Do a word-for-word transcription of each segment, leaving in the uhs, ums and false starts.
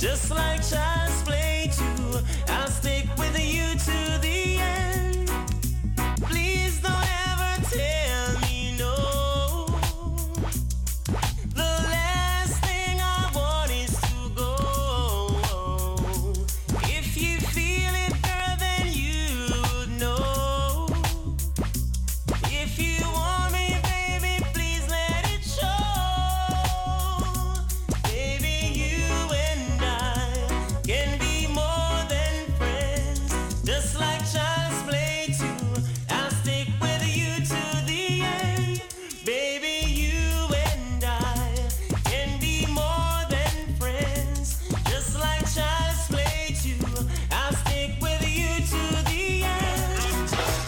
just like child's play too. I'll stick with you to the end. Please don't ever tell me no. The last thing I want is to go. If you feel it, girl, then you would know. If you want me, baby, please let it show. Baby, you and I can be more than friends, just like child's play too. I'll stick with you to the end. Baby, you and I can be more than friends, just like child's play too. I'll stick with you to the end.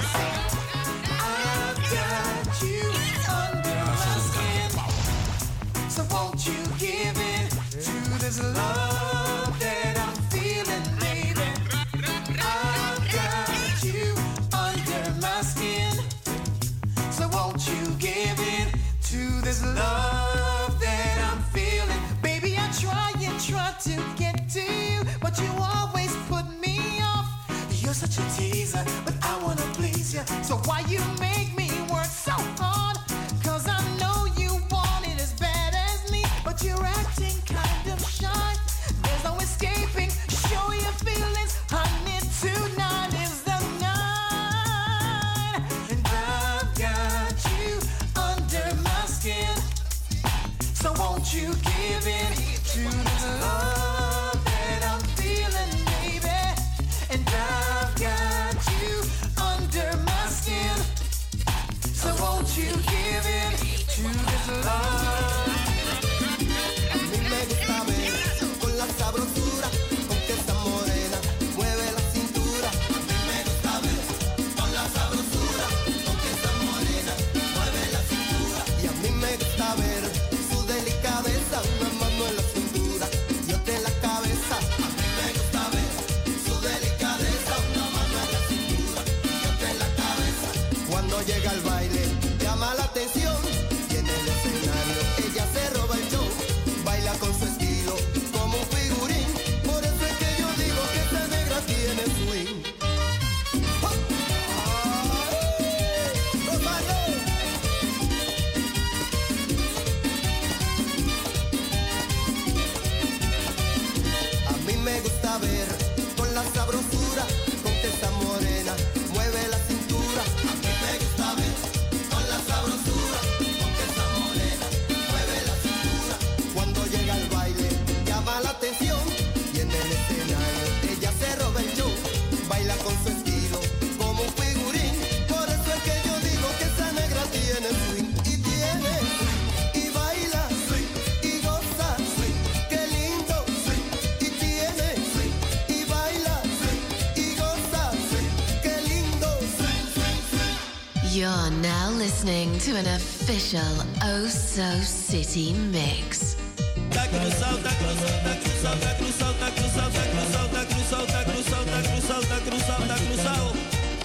I've got you under my skin, so won't you give in to this love that I'm feeling, baby? I've got you under my skin, so won't you give in to this love that I'm feeling? Baby, I try and try to get to you, but you always put me off. You're such a teaser, but I wanna please you. So why you make me work so hard? Cause I know you want it as bad as me, but you're acting kind of shy. There's no escaping, show your feelings, honey, tonight is the night. And I've got you under my skin, so won't you give in to this love that I'm feeling, baby? And I've got you under my skin, so won't you give in to this love? A mí me gusta ver con la sabrosura con que esta morena mueve la cintura. A mí me gusta ver con la sabrosura con que esta morena mueve la cintura. Y a mí me gusta ver su delicadeza, una mano en la cintura y otra en la cabeza. A mí me gusta ver su delicadeza, una mano en la cintura y otra en la cabeza. Cuando llega al baile llama la atención y en el escenario ella se roba el show. Baila con su estilo como un figurín, por eso es que yo digo que esta negra tiene swing. ¡Oh! ¡Ay! ¡Rómalo! A mí me gusta ver con la sabrosura con que esta morena mueve la cintura. A mí me gusta ver con la sabrosura con que esta morena mueve la cintura. Cuando llega al baile llama la atención y en el escenario ella se roba el show. Baila con su estilo como un figurín, por eso es que yo digo que esa negra tiene swing. Y tiene swing, y baila swing, y goza swing, qué lindo swing. Y tiene swing, y baila swing, y goza swing, qué lindo swing, swing, swing. You're now listening to an official Oh So City mix. Tá cruzado, tá cruzado, tá cruzado, tá cruzado, tá cruzado, tá cruzado, tá cruzado, tá cruzado, tá cruzado, tá cruzado, tá cruzado.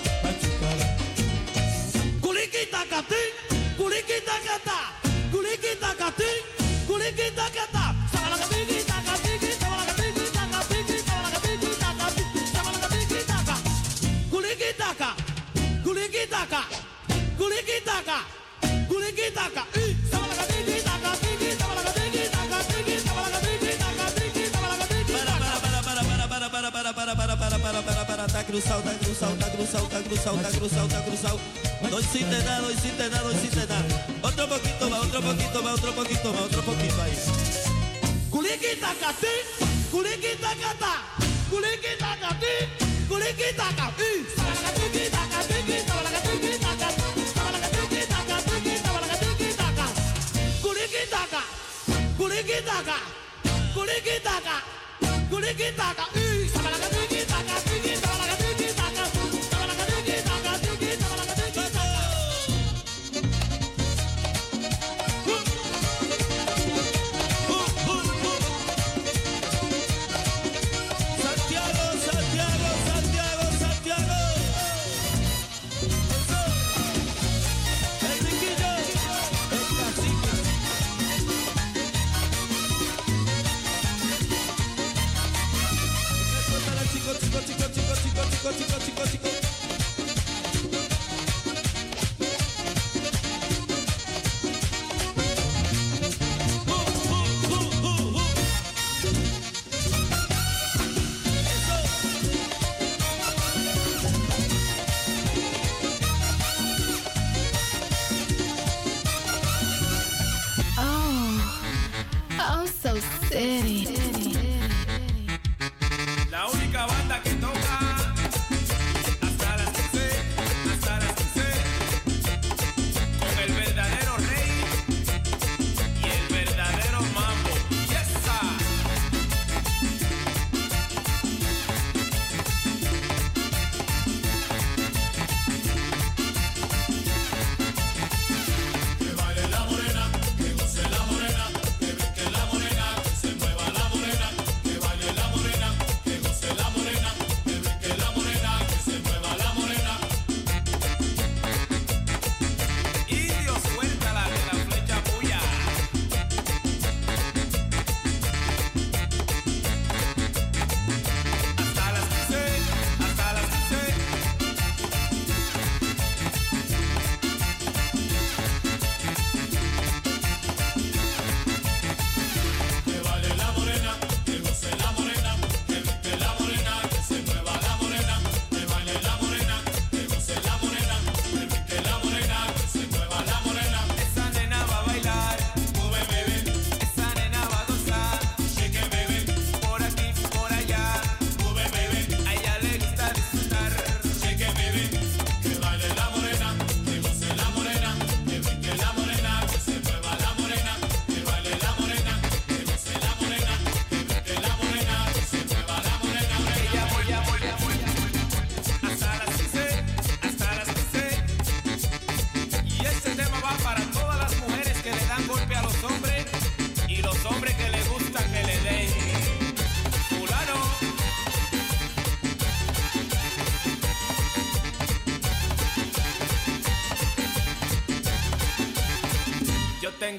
Culiquitacati, culiquitacata, culiquitacati, culiquitacata. Sabalagatiquitacati, sabalagatiquitacati, sabalagatiquitacati, sabalagatiquitaca. Culiquitaca, culiquitaca, culiquitaca, culiquitaca. Sabalagatiquitacati, tá cruzado, tá cruzado, tá cruzado, tá cruzado, tá cruzado, tá cruzado. Dois sin te da, dois sin te da, dois sin te da. Otro poquito más, otro poquito más, otro poquito más, otro poquito ahí. Culiquitacati, culiquitacata, culiquitacati, culiquitacati. Sabalagatiquitacati, sabalagatiquitacati, sabalagatiquitacati, sabalagatiquitaca. Culiquitaca, culiquitaca, culiquitaca, culiquitaca. Sabalagatiquitacati, sabalagatiquitacati, sabalagatiquitacati, sabalagatiquitaca. Santiago, Santiago, Santiago, Santiago. Enriquillo, el cacique.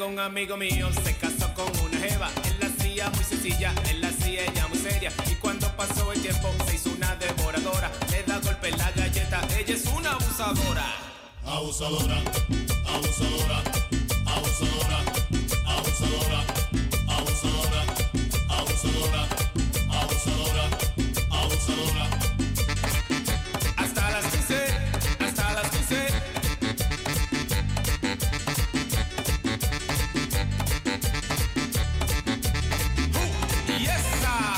un amigo mío se casó con una jeva. Él la hacía muy sencilla, él la hacía ella muy seria. Y cuando pasó el tiempo se hizo una devoradora. Le da golpe en la galleta, ella es una abusadora. Abusadora, abusadora, abusadora, abusadora, abusadora, abusadora, abusadora, abusadora. Hasta las quince, hasta las quince. Uh, yes, sir.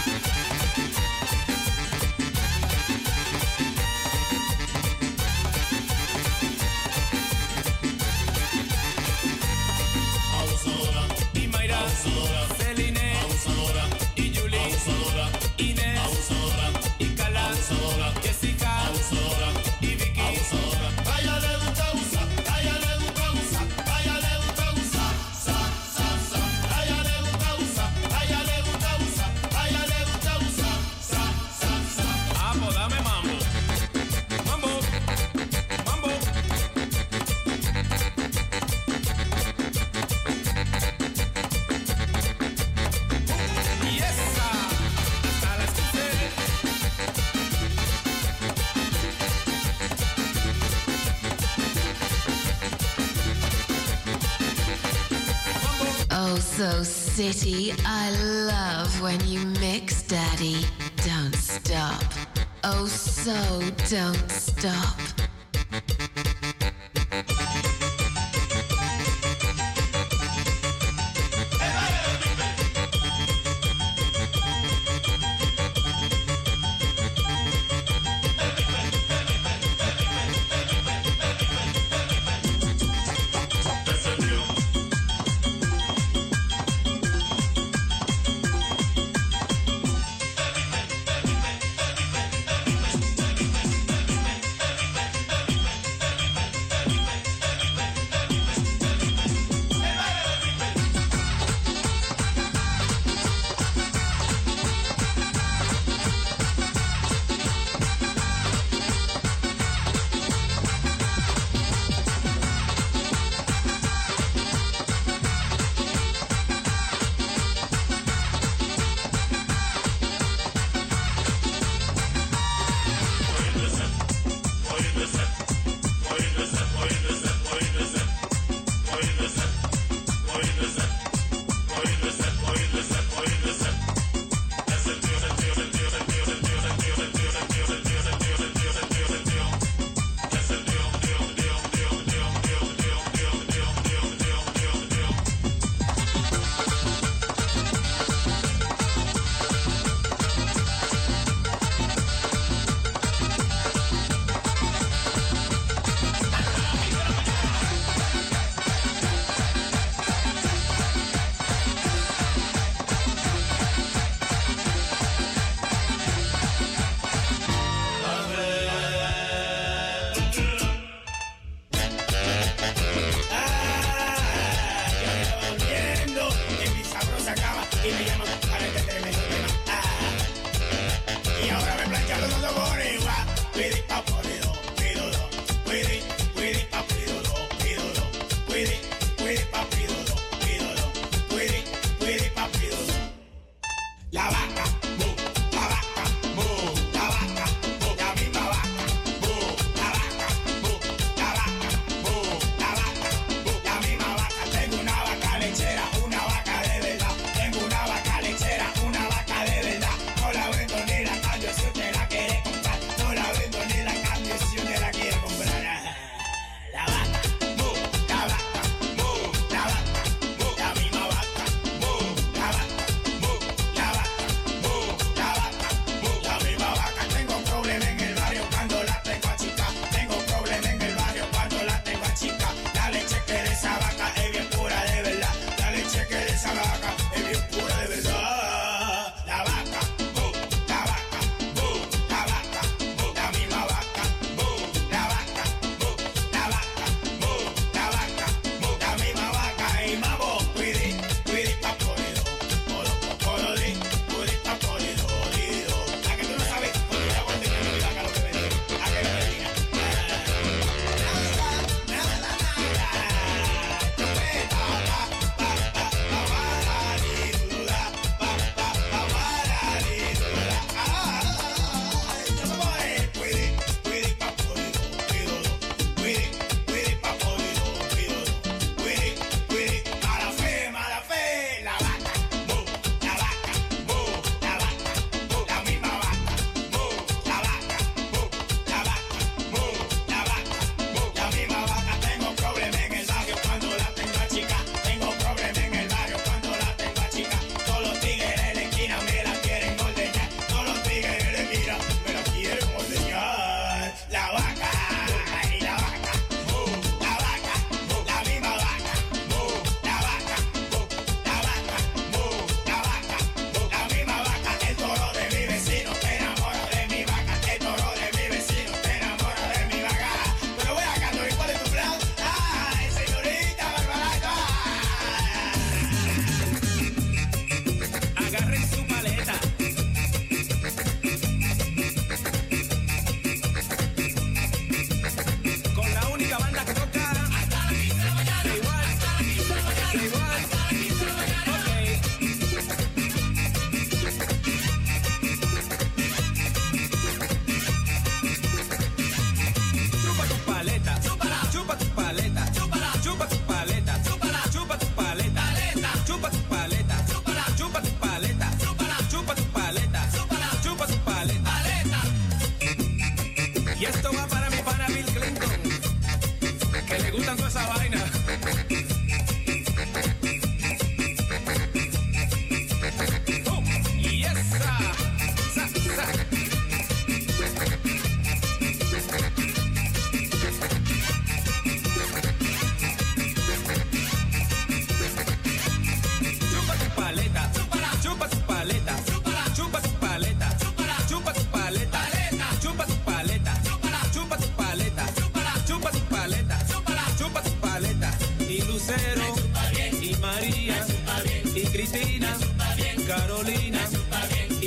Y Mayra, Celine, y Julie, Inés, y Carla, Jessica, y Vicky. A ella le gusta abusar, a ella le gusta abusar, a ella le gusta abusar, sa, sa, sa. A ella le gusta abusar, a ella le gusta abusar, a ella le gusta abusar, sa, sa, sa. Ah, pues dame mambo, mambo, mambo. Yes, sir. Hasta las quince. Oh, so city. I love when you mix, Daddy. Don't stop. Oh, so don't stop.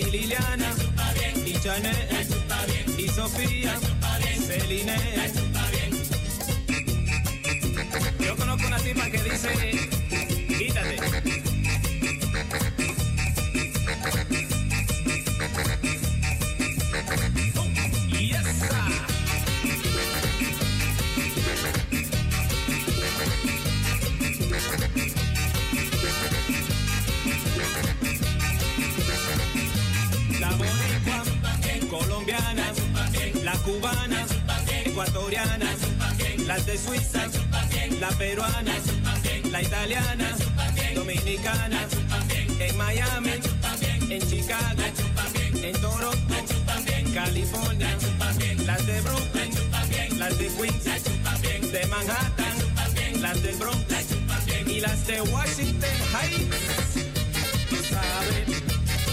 y Liliana, y Janet, y Sofía, Celine. Yo conozco una tipa que dice, quítate. Yes, sir. La boricua, colombiana, la cubana, ecuatoriana, las de Suiza, la peruana, la italiana, dominicana, en Miami, en Chicago, en Toronto, California, las de Brooklyn, las de Queens, de Manhattan, las del Bronx y las de Washington Heights. Tú sabes.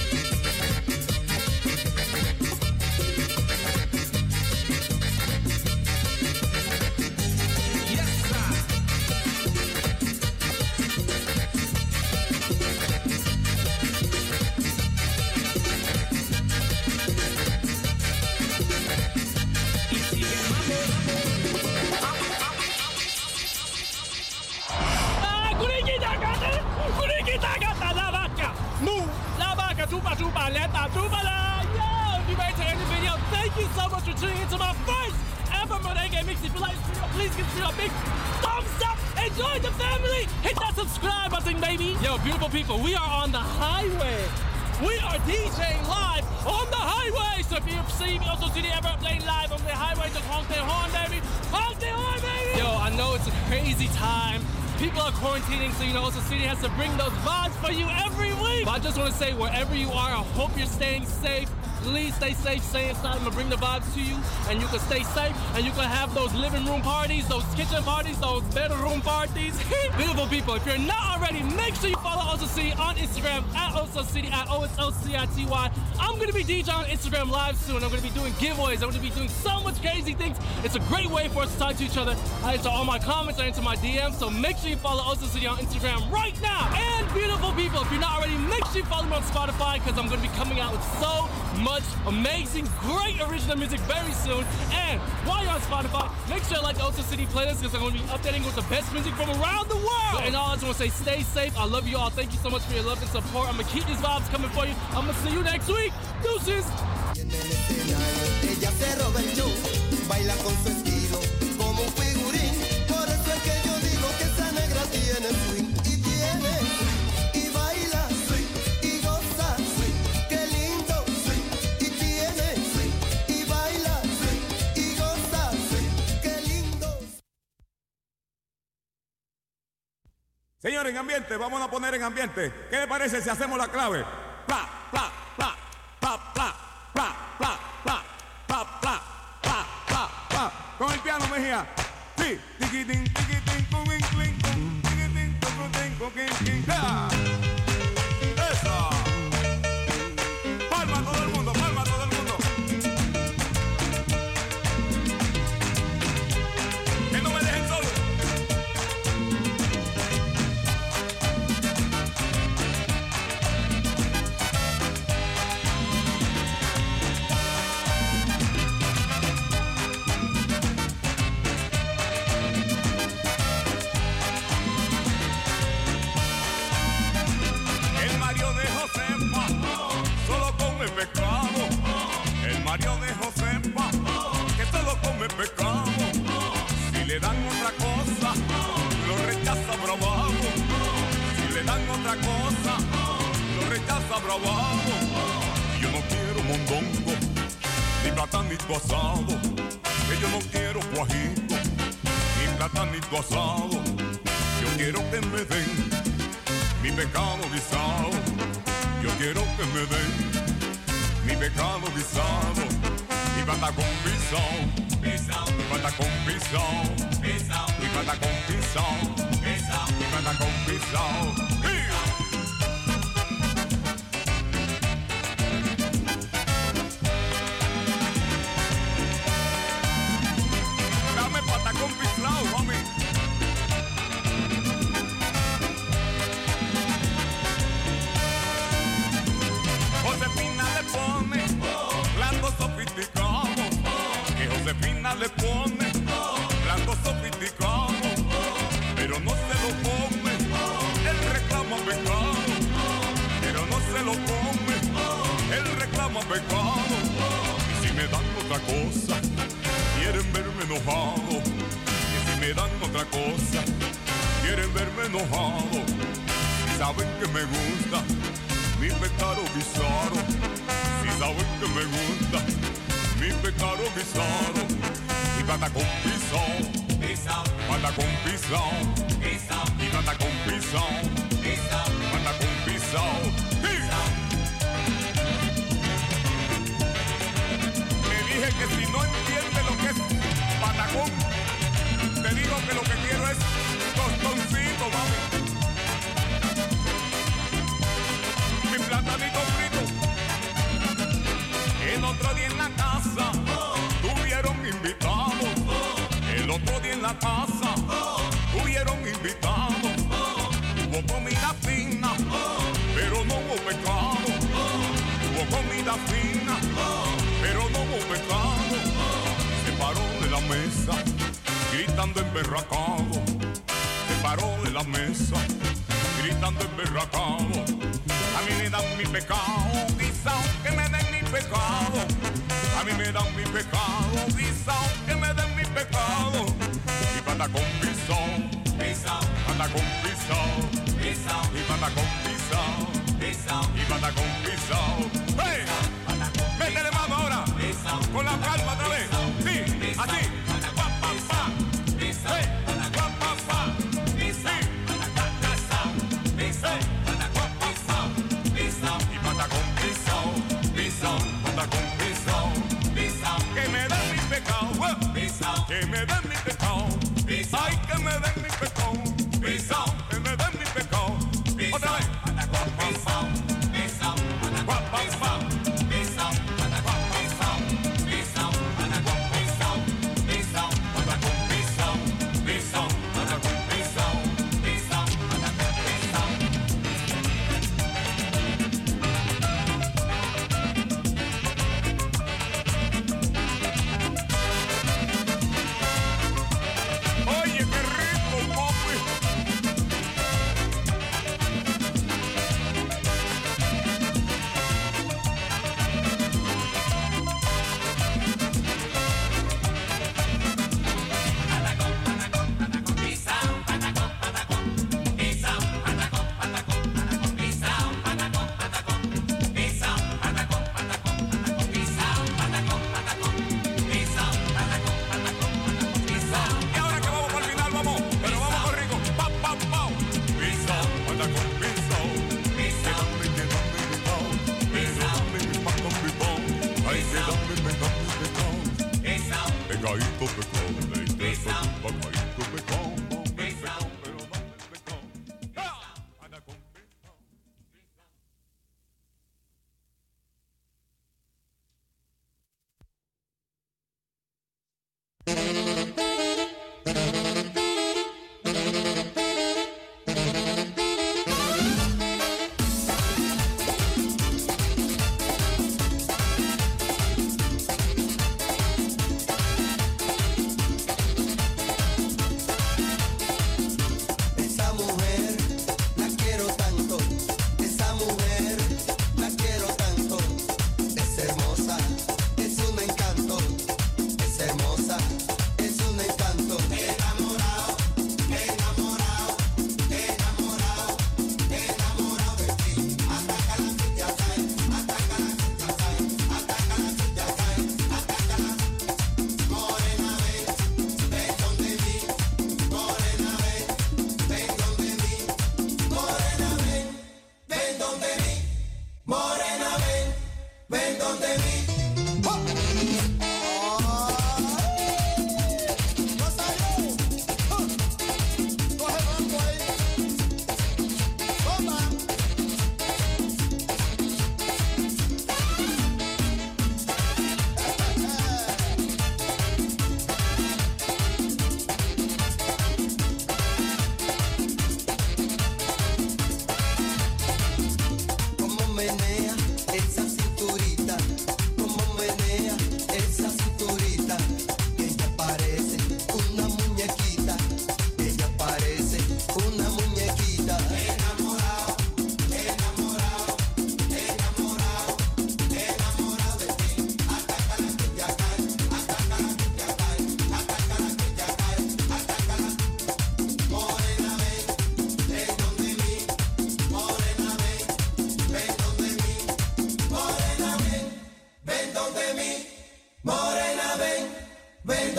Thank you so much for tuning into my first ever Merengue Mix. If you like this video, please consider a big thumbs up and join the family. Hit that subscribe button, baby. Yo, beautiful people, we are on the highway. We are DJing live on the highway. So if you see me, also see the ever playing live on the highway, just honk their horn, baby. Honk their horn, baby. Yo, I know it's a crazy time. People are quarantining, so you know, Oso City has to bring those vibes for you every week. But I just want to say, wherever you are, I hope you're staying safe. Please stay safe, stay inside. I'm gonna bring the vibes to you, and you can stay safe, and you can have those living room parties, those kitchen parties, those bedroom parties. Beautiful people, if you're not already, make sure you follow Oso City on Instagram at Oso City at O S O C I T Y. I'm gonna be DJing on Instagram live soon. I'm gonna be doing giveaways. I'm gonna be doing so much crazy things. It's a great way for us to talk to each other. I answer all my comments, I answer my D Ms, so make sure you follow Oso City on Instagram right now. And beautiful people, if you're not already, make sure you follow me on Spotify, because I'm gonna be coming out with so much amazing, great original music very soon. And while you're on Spotify, make sure you like the Oso City playlist, because I'm going to be updating with the best music from around the world. And all I just want to say, stay safe. I love you all. Thank you so much for your love and support. I'm going to keep these vibes coming for you. I'm going to see you next week. Deuces. Ella se roba el show, baila con su estilo como un figurín. Por eso es que yo digo que esa negra tiene swing y tiene y baila y goza. Qué lindo y tiene y baila y goza. Qué lindo. Señores, en ambiente, vamos a poner en ambiente. ¿Qué le parece si hacemos la clave? Pla, pla, pla, pla, pla, pla, pla, pla, pla, pla, pla, pla, pla. Con el piano, Mejía. Sí. Tiquitín, tiquitín, cuquín, clín, cum. Tiquitín, tucutín, cuquín, clín. ¡Ya! ¡Eso! Palma todo el mundo, palma todo el mundo. Que no me dejen solo. El Mario de Josefa solo come pescado. El Mario de Josefa que solo come pescado. Si le dan otra cosa, lo rechaza bravado. Si le dan otra cosa, lo rechaza bravado. Yo no quiero mondongo, ni platanito asado. Que yo no quiero cuajito, ni platanito asado. Yo quiero que me den mi pecado guisado. Yo quiero que me den mi pecado guisado. Mi pata con pisao, mi pata con pisao, mi pata con pisao, mi pata con pisao. Dame pata con pisao, mami. Josefina le nena le pone plato sofisticado, pero no se lo come, él reclama pecado, pero no se lo come, él reclama pecado. Y si me dan otra cosa, quieren verme enojado, y si me dan otra cosa, quieren verme enojado. Si saben que me gusta mi pecado guisado, si saben que me gusta mi pecado guisado, y plata con pisón, plata con pisón, y plata con pisón, plata con pisón. Me dije que si no entiende lo que es patacón, te digo que lo que quiero es tostoncito, mami. Mi platanito frito. El otro día en la casa tuvieron invitados. El otro día en la casa tuvieron invitados. Hubo comida fina, pero no hubo pecado. Hubo comida fina, pero no hubo pecado. Se paró de la mesa, gritando emberracado. Se paró de la mesa, gritando emberracado. A mí me dan mi pecado, guisao, que me den mi pecado. A mí me dan mi pecado, guisao, que me den mi pecado. Y pata con pisón, pata con pisón, y pata con pisón, y pata con pisón. ¡Hey! Métele mano ahora, con la palma otra vez. Sí, así. Pa, pa, pa. Hey, pa, pa, pa. Sí. Hey. Y pata con pisón, pisón, pata con pisón, pisón. Que me den mi pecado, pisón. Que me den mi pecado, pisón. Ay, que me den mi pecado, pisón. Que me den mi pecado, otra vez. Pata con pisón, pisón, pata con pisón, pisón, pata con pisón, pisón, pata con pisón, pisón, pata con pisón, pisón, pata con pisón, pisón, pata con pisón. Oye, qué rico, papi. Y ahora que vamos para el final, vamos, pero vamos con rico. Pa, pa, pa. Pisao, anda con pisao. Quédame, quédame, pecao. Quédame, mi pa con mi pao. Ay, quédame, quédame, pecao. Pecaíto, pecao. Pecao, pecaíto, pecao. Pecao, pero dame el pecao. Ah, anda con pisao.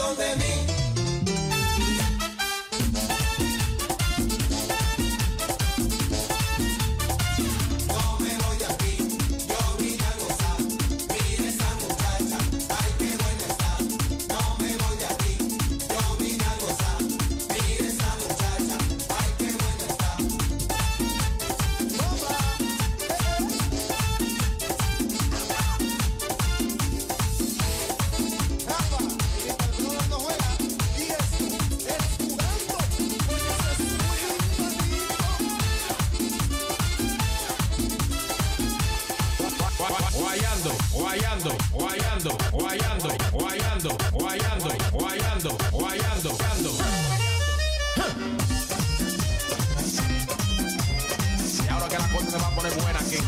dentro de mí. Y ahora que la cosa se va a poner buena aquí.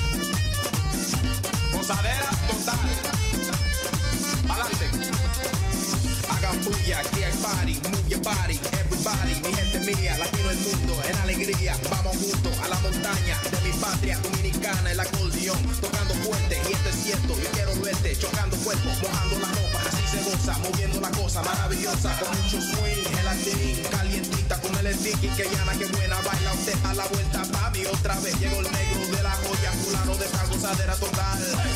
Gozadera total. Pa'lante. Hagan bulla, aquí hay party, move your body, everybody, mi gente mía, latino el mundo, en alegría, vamos juntos a la montaña de mi patria dominicana, el acordeón, tocando fuerte, y esto es cierto, yo quiero verte, chocando cuerpo, mojando la ropa, así se goza, moviendo la cosa maravillosa, con mucho swing, gelatín, calientita, con el sticky, que llana, que buena, baila usted a la vuelta, papi, otra vez, llegó el negro de la joya, fulano de esta gozadera total.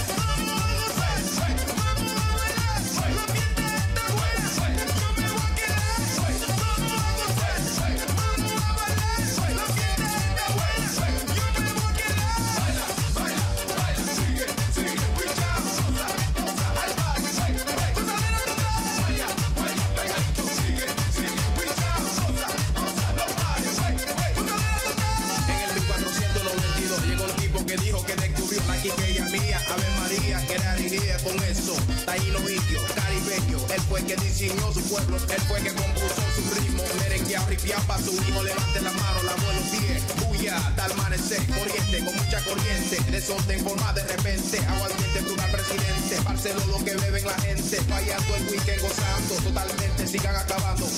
Con eso, taíno indio, caribeño, él fue que diseñó su pueblo, él fue que compuso su ritmo, merengueado, ripiado pa' su hijo, levante la mano, la buenos pies, bulla, hasta amanecer, corriente, con mucha corriente, desorden forma de repente, aguardiente, plural presidente, Barceló lo que beben la gente, fallando el weekend, gozando, totalmente, sigan acabando.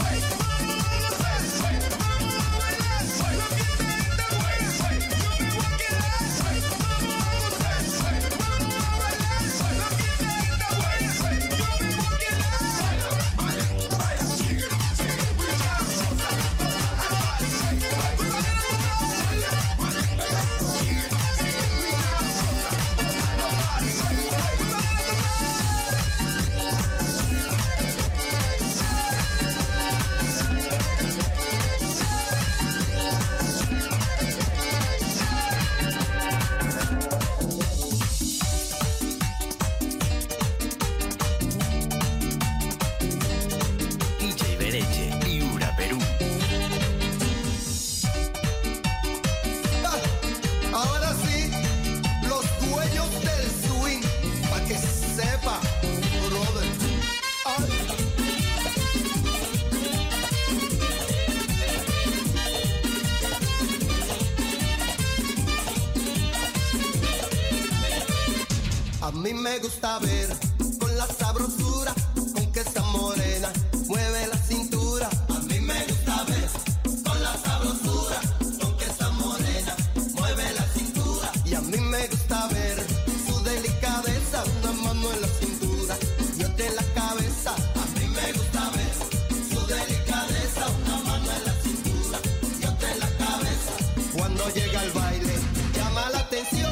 A mí me gusta ver con la sabrosura con que esa morena mueve la cintura. A mí me gusta ver con la sabrosura con que esa morena mueve la cintura. Y a mí me gusta ver su delicadeza, una mano en la cintura y otra en la cabeza. A mí me gusta ver su delicadeza, una mano en la cintura y otra en la cabeza. Cuando llega al baile llama la atención.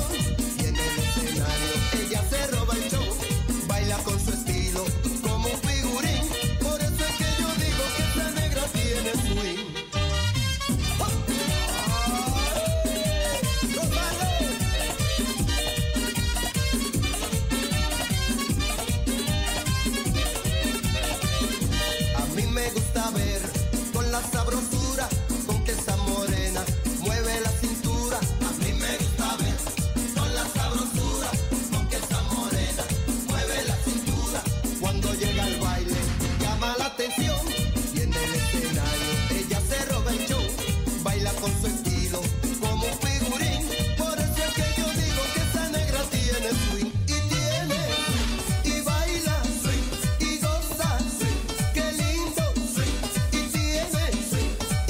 Ella se roba el show, baila con su estilo como un figurín. Por eso es que yo digo que esta negra tiene swing. A mí me gusta ver con la sabrosura con que esa morena mueve la cintura. A mí me gusta ver con la sabrosura cuando llega al baile, llama la atención. Y en el escenario, ella se roba el show, baila con su estilo como un figurín. Por eso es que yo digo que esa negra tiene swing. Y tiene, y baila, y goza, qué lindo. Y tiene,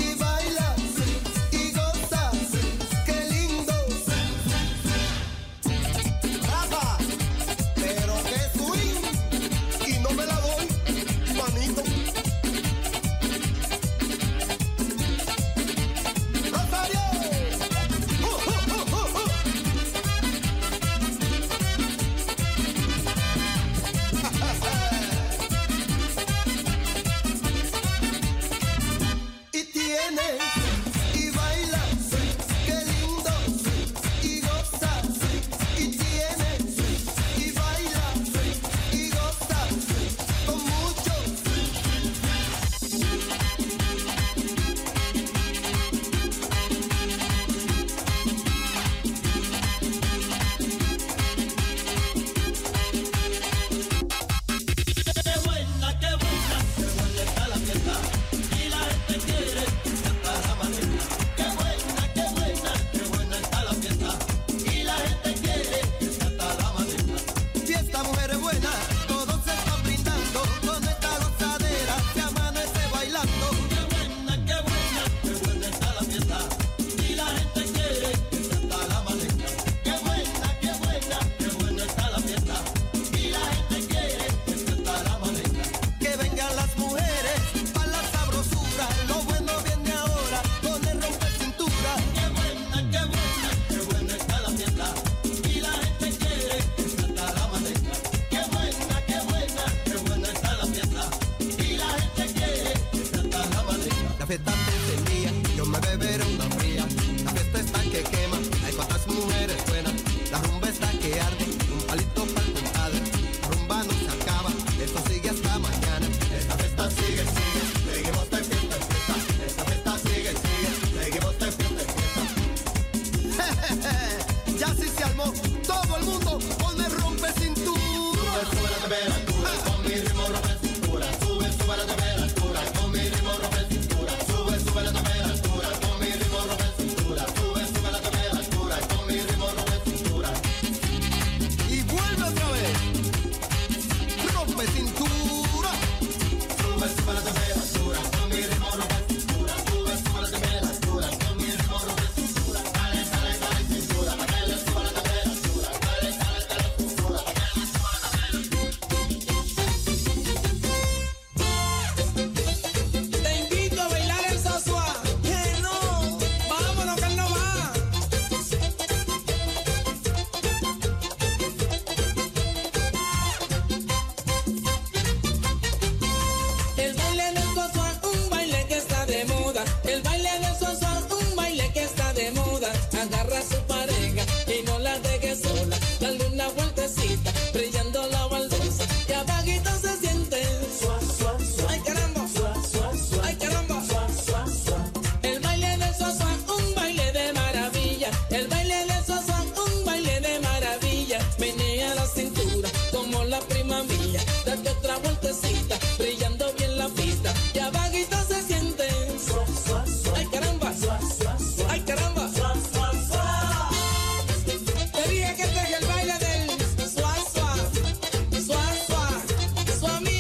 temperatura, con mi ritmo rompe cintura, sube, sube la temperatura, con mi ritmo rompe cintura, sube, sube la temperatura, con mi ritmo rompe cintura, sube, sube la temperatura, con mi ritmo rompe cintura. Y vuelve otra vez. Rompe cintura. Sube, sube la temperatura, con mi ritmo rompe cintura, sube, sube la temperatura, con mi ritmo rompe cintura, dale, dale, dale cintura, pa' que le suba la temperatura, dale, dale, dale cintura, pa' que le suba la temperatura. Te invito a bailar el sasua. Que no, vámonos que no va. El baile del sasua, un baile que está de moda. El baile del sasua, un baile que está de moda. Agarra a su pareja y no la dejes sola. Dale una vueltecita, brillando la baldosa. Y abajito se siente. Ay caramba, ay caramba. El baile del sasua, un baile de maravilla. El baile del sasua, un baile de maravilla. Menea la cintura como la prima mía. Date otra vueltecita, brillando bien la pista. Y abajito se siente. Ay caramba, ay caramba. Te dije que este es el baile del sua sua, sua sua, suami.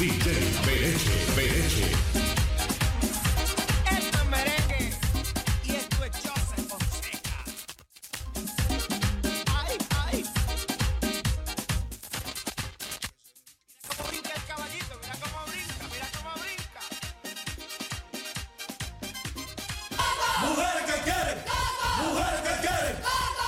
D J Bereche, Bereche. Esto es merengue y esto es Joseph Fonseca. Ay, ay. Mira cómo brinca el caballito, mira cómo brinca, mira cómo brinca. Mujeres que quieren, mujeres que quieren.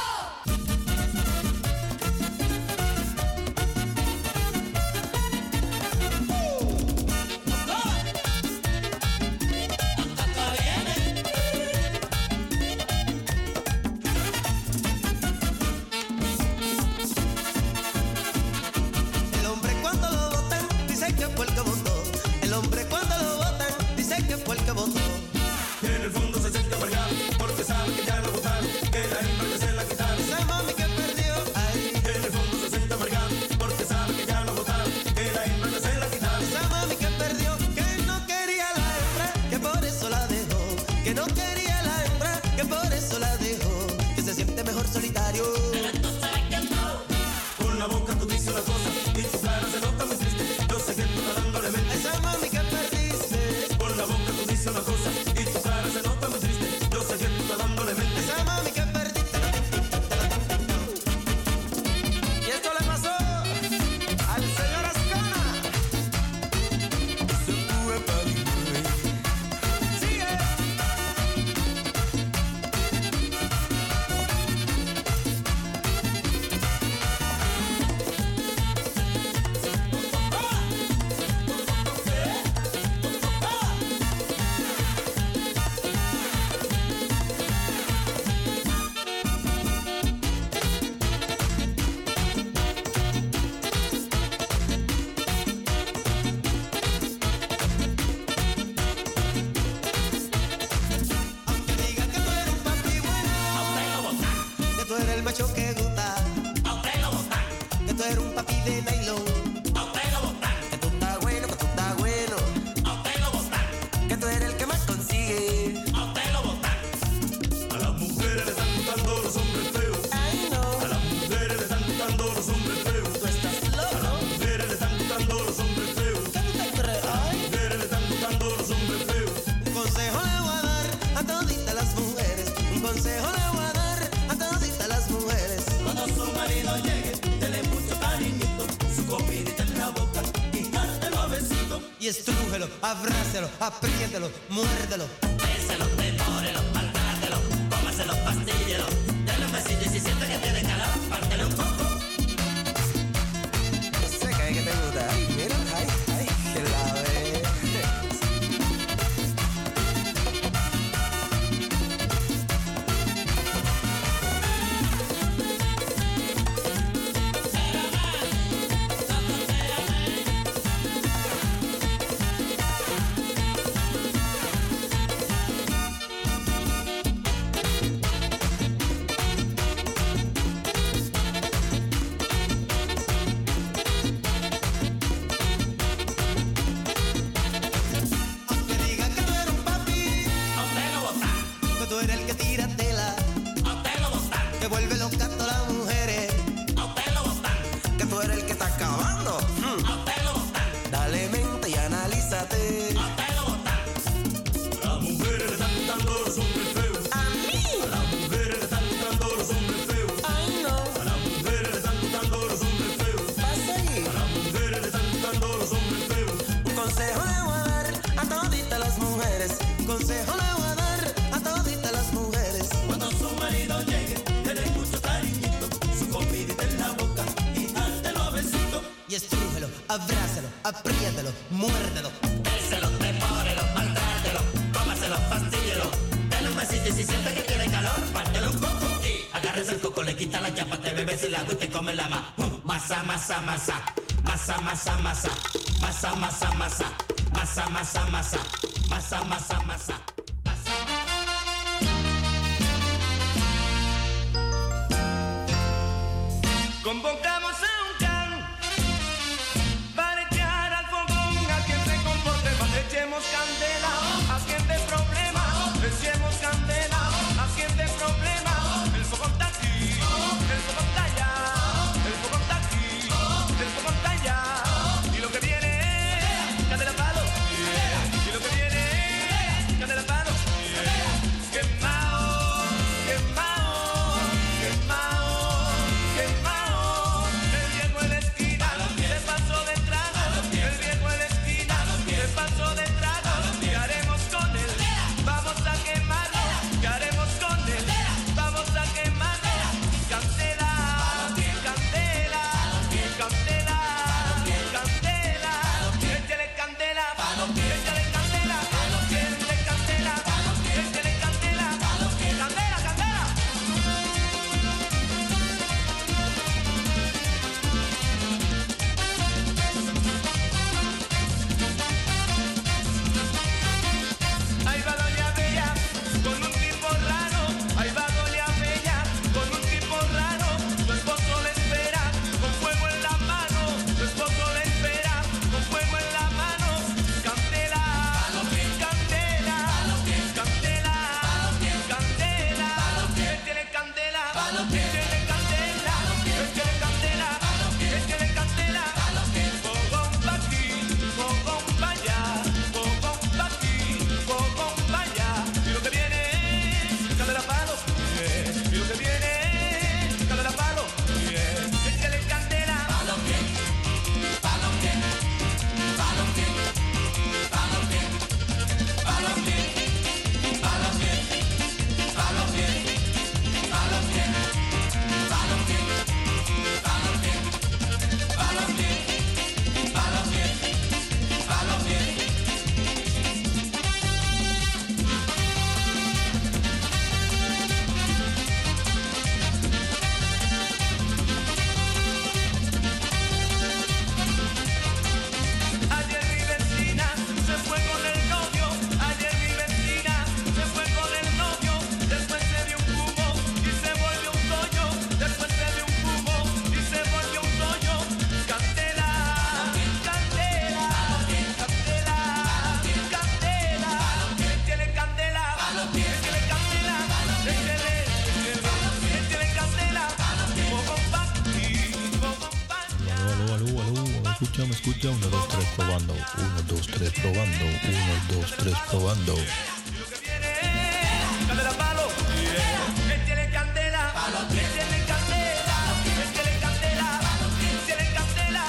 El hombre cuando lo botan dice que fue el que votó. El hombre cuando lo botan dice que fue el que votó. Y en el fondo se siente amargado porque sabe que ya lo botaron, que la hembra ya se la quitaron. Esa mami que perdió, ay. Y en el fondo se siente amargado porque sabe que ya lo botaron, que la hembra ya se la quitaron. Esa mami que perdió, que no quería la hembra, que por eso la dejó. Que no quería la hembra, que por eso la dejó. Que se siente mejor solitario. Con la boca tú dices una cosa y tu cara se nota muy triste. Yo sé que tú estás dándole mente. Esa mami que perdiste. Con la boca tú dices una cosa y tu cara se nota muy triste. Yo sé que tú estás dándole mente. Esa mami que perdiste. Y esto le pasó al señor Ascona. Se fue para mí. Sigue. Aunque digan que tú eres un papi bueno, que tú eres el macho que gusta, que tú eres un papi de nylon, que tú estás bueno, que tú estás bueno, que tú eres el que más consigue. A las mujeres le están gustando los hombres feos. Ay no, A las mujeres le están gustando los hombres feos. tú estás A las loco. mujeres le están gustando los hombres feos. ¿Qué tú te crees? A las Ay. mujeres le están gustando los hombres feos. Un consejo le voy a dar a toditas las mujeres. Un consejo le voy a dar a toditas las mujeres. Cuando su marido llegue, dele mucho cariñito, su comidita en la boca y dártelo a besito. Y estrújelo, abrácelo, apriételo, muérdelo. Béselo, devórelo, maltrátelo, cómaselo, pastíllelo. Dale un besito y si siente que tiene calor, pártele un poco. Yo sé que hay que te gusta. Ay, mira, ay, ay, que la ve. Aunque digan que tú eres un papi, que tú eres el que tira tela, que vuelve loca a todas las mujeres, que tú eres el que está acabando. Mm. Dale mente y analízate. A las mujeres le están gustando los hombres feos. A mí. A las mujeres le están gustando los hombres feos. Ay no, A las mujeres le están gustando los hombres feos. va a seguir. A las mujeres le están gustando los hombres feos. Un consejo le voy a dar a toditas las mujeres. Un consejo le voy a dar a toditas las mujeres. Cuando su marido llegue, dele mucho cariñito, su comidita en la boca y dártelo a besito. Y estrújelo, abrácelo, apriételo, muérdelo. Béselo, devórelo, maltrátelo, cómaselo, pastíllelo. Dale un besito y si siente que tiene calor, pártelo un poco. Y agárrese el coco, le quita la chapa, te bebes el agua y te come la ma. Masa, masa, masa, masa, masa, masa, masa, masa, masa, masa, masa, masa, masa, masa, masa. Convocamos a un can para echar al fogón a quien se comporte mal. Echemos candela, a quien dé problema. Echemos candela, a quien dé problema. El fogón está aquí, el fogón está allá, el fogón está aquí, el fogón está allá. Y lo que viene escucha, me escucha. Uno, dos, tres, probando. Uno, dos, tres, probando. Uno, dos, tres, probando. Candela palo, yeah. Él tiene candela, él tiene candela, él tiene candela, él tiene candela,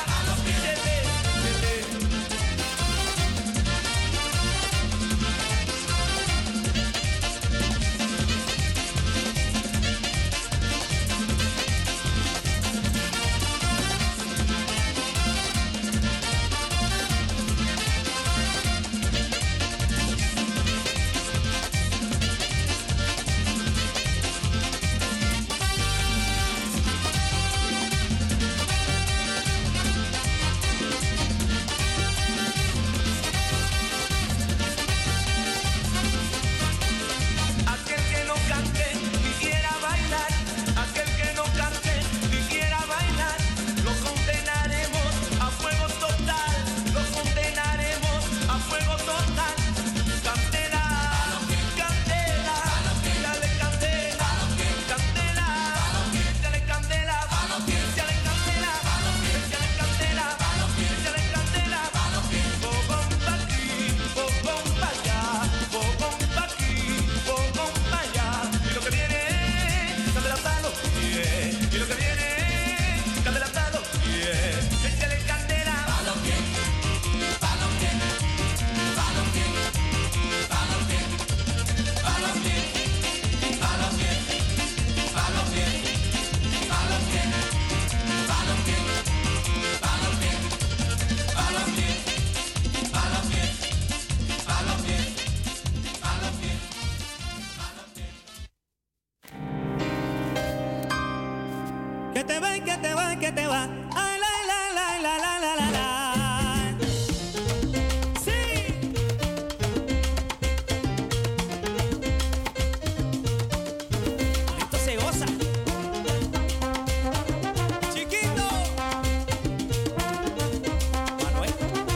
Que te va, que te va, que te va. Ay, la, la, la, la, la, la, la, la. Sí. Esto se goza. Chiquito. Manuel.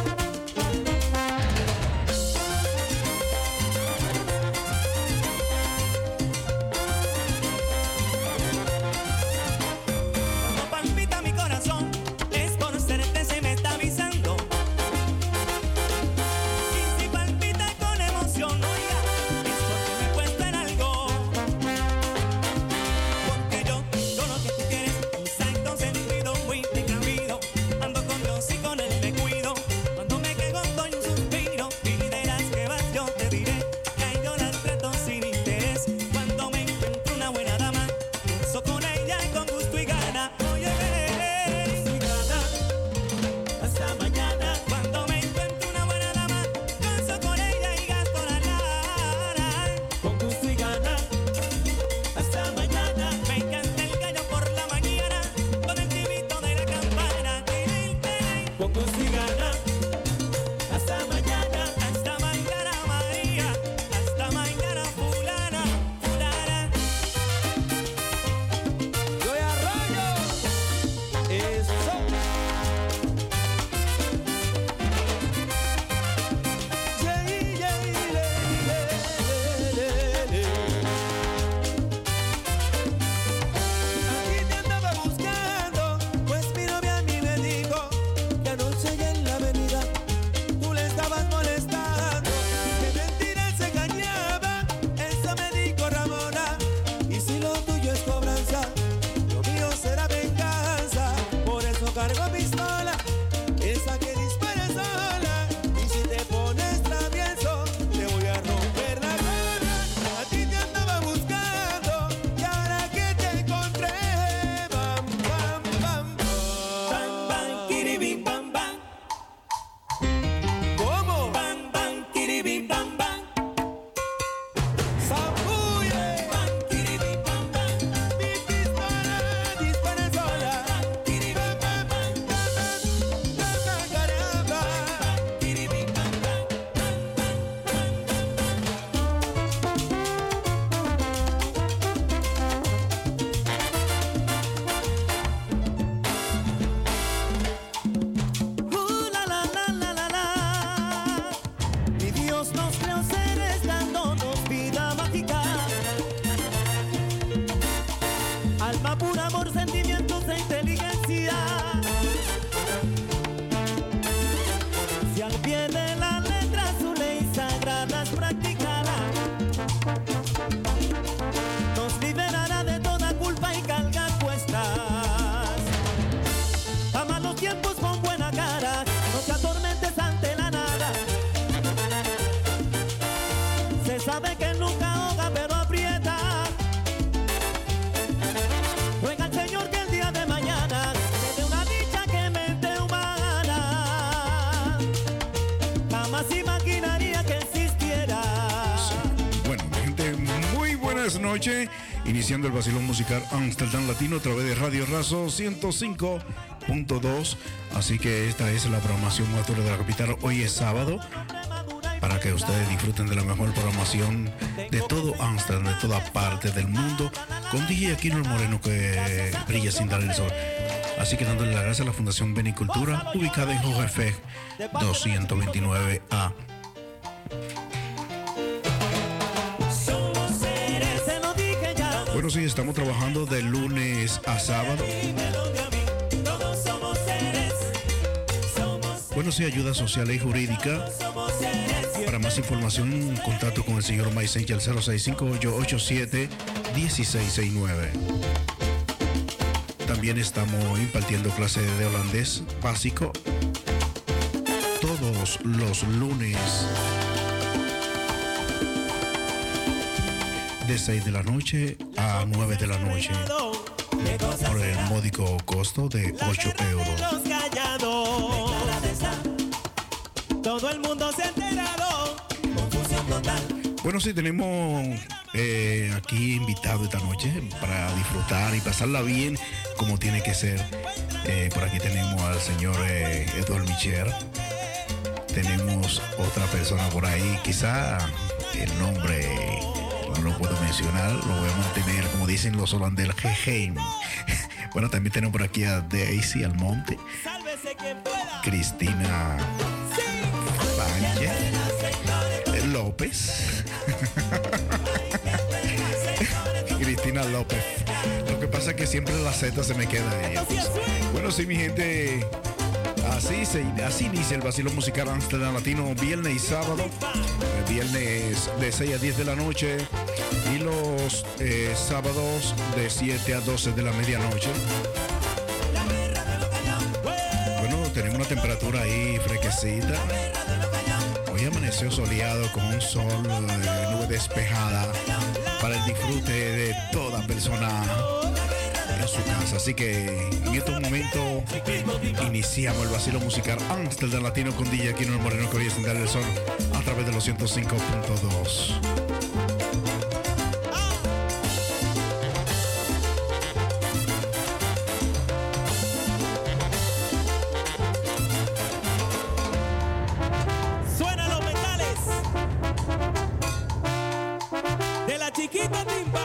Palpita mi corazón, es conocerte se me está avisando. Y si palpita con emoción, oiga, es porque me he puesto en algo. Porque yo, yo lo que tú quieres, un santo sentido muy precavido. Ando con Dios y con él me cuido. Cuando me quedo doy un suspiro y de las que vas yo te diré que ahí yo las trato sin interés. Cuando me encuentro una buena dama, gozo con ella con gusto y gana. Hasta mañana, cuando me encuentro una buena dama, gozo con ella y gasto la lana. Con gusto y gana, hasta mañana. Me encanta el gallo por la mañana, con el tibito de la campana. Con gusto y gana, hasta mañana. Hasta mañana María, hasta mañana fulana, fulana. Yo ya rollo, eso. Aquí te andaba buscando, pues mi novia a mí me dijo que anoche ella en la noche, iniciando el vacilón musical Amsterdam Latino a través de Radio Razo ciento cinco punto dos. Así que esta es la programación matura de la capital. Hoy es sábado, para que ustedes disfruten de la mejor programación de todo Amsterdam, de toda parte del mundo, con D J Aquino el Moreno que brilla sin dar el sol. Así que dándole las gracias a la Fundación Benicultura, ubicada en Hogerfeg doscientos veintinueve A. Bueno, sí, estamos trabajando de lunes a sábado. Bueno, sí, ayuda social y jurídica. Para más información, contacto con el señor Maisencha al cero seis cinco ocho ocho siete uno seis seis nueve. También estamos impartiendo clases de holandés básico todos los lunes de seis de la noche a nueve de la noche por el módico costo de ocho euros. Todo el mundo se ha enterado. Confusión total. Bueno, sí, tenemos eh, aquí invitado esta noche para disfrutar y pasarla bien como tiene que ser. Eh, por aquí tenemos al señor eh, Eduardo Micher. Tenemos otra persona por ahí, quizá el nombre no lo puedo mencionar, lo voy a mantener como dicen los holandeses, Geheim. Bueno, también tenemos por aquí a Daisy Almonte, Cristina Sánchez López. Cristina López. Lo que pasa es que siempre la Z se me queda ahí. Bueno, sí, mi gente, así, se, así inicia el vacilón musical Amsterdam Latino, viernes y sábado. El viernes de seis a diez de la noche y los eh, sábados de siete a doce de la medianoche. Bueno, tenemos una temperatura ahí fresquecita. Hoy amaneció soleado con un sol, eh, nube despejada para el disfrute de toda persona en su casa. Así que en estos momentos iniciamos el vacilo musical Amsterdam Latino con D J Aquino el Moreno que hoy es sin darle el sol a través de los ciento cinco punto dos. Suena los metales de la chiquita timba.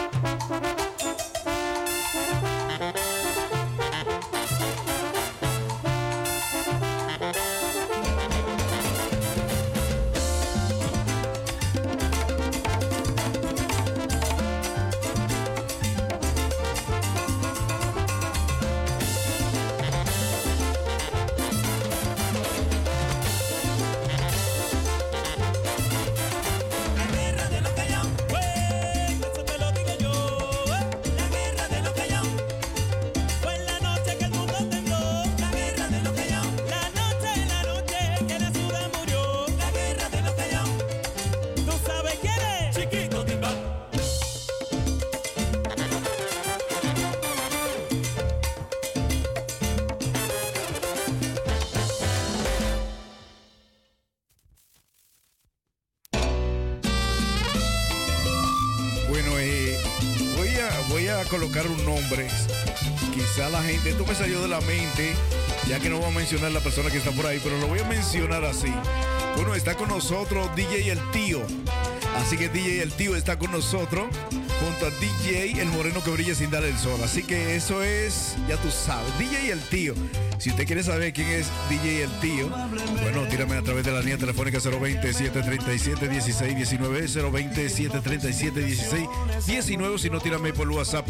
Colocar un nombre, quizá la gente, esto me salió de la mente, ya que no voy a mencionar la persona que está por ahí, pero lo voy a mencionar así. Bueno, está con nosotros D J El Tío, así que D J El Tío está con nosotros junto a D J El Moreno que brilla sin dar el sol, así que eso es, ya tú sabes, D J El Tío. Si usted quiere saber quién es D J El Tío, bueno, tírame a través de la línea telefónica cero veinte, siete treinta y siete, dieciséis diecinueve, cero veinte, siete treinta y siete, dieciséis diecinueve, si no, tírame por WhatsApp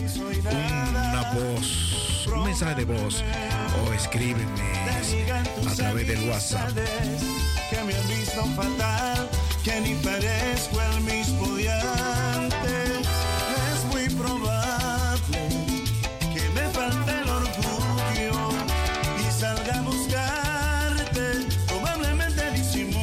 una voz, un mensaje de voz, o escríbeme a través del WhatsApp. Que me han visto fatal, que ni parezco el mismo de antes. Es muy probable que me falte el orgullo y salga a buscarte. Probablemente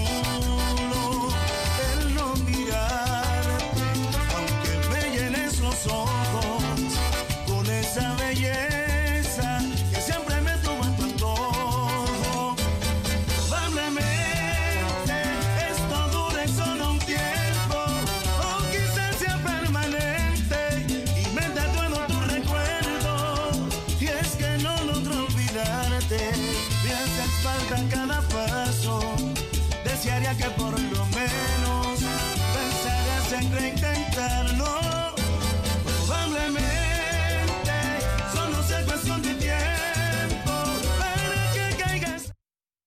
disimulo el no mirarte, aunque me llenes los ojos con esa belleza que siempre me tuvo en tu antojo. Probablemente esto dure solo un tiempo, o quizás sea importa cada paso, desearía que por lo menos pensaras en reintentarlo.